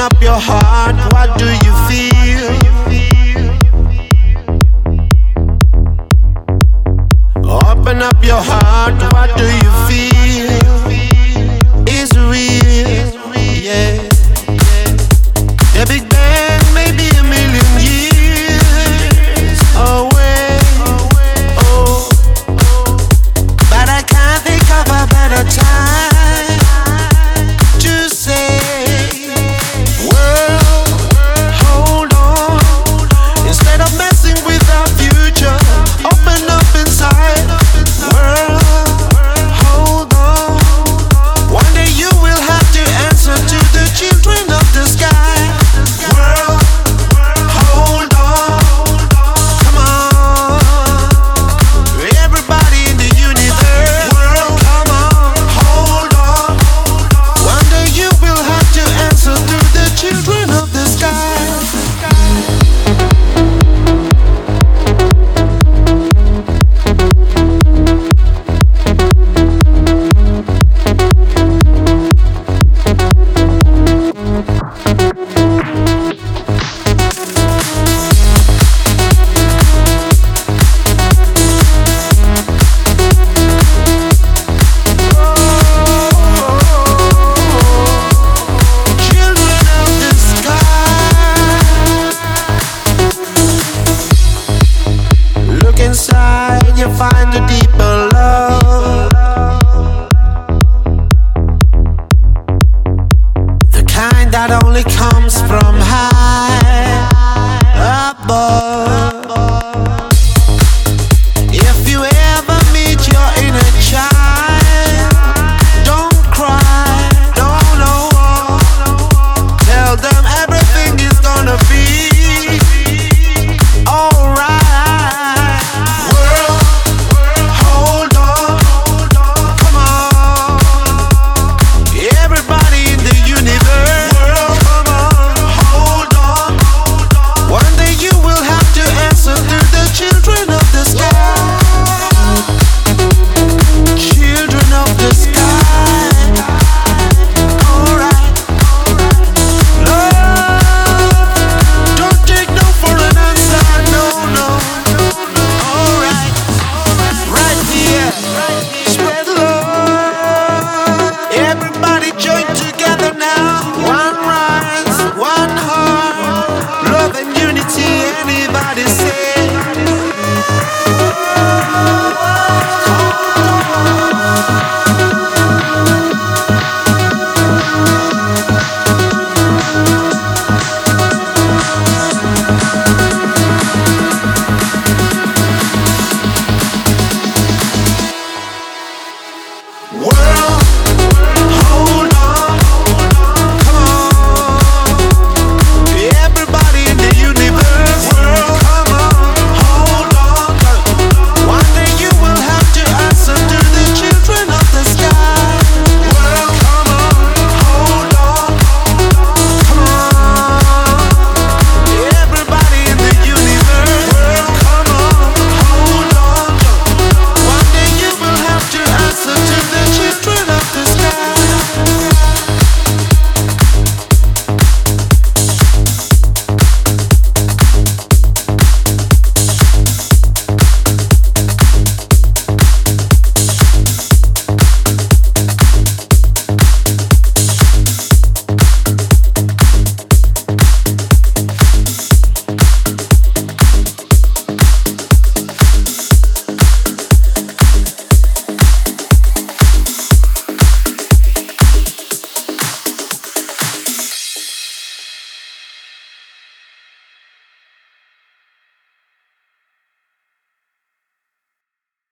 up your heart, what do you feel? Open up your heart, what do you feel? It's real, yeah. The Big Bang may be a million years away, oh, but I can't think of a better time to say, world, hold on. Instead of messing with our future, open up inside. World, hold on. One day you will have to answer to the children of the sky. World, hold on. Come on, everybody in the universe. World, come on, hold on. One day you will have to answer to the children of the sky. Children of the sky. Look inside, you find a deeper love, the kind that only comes from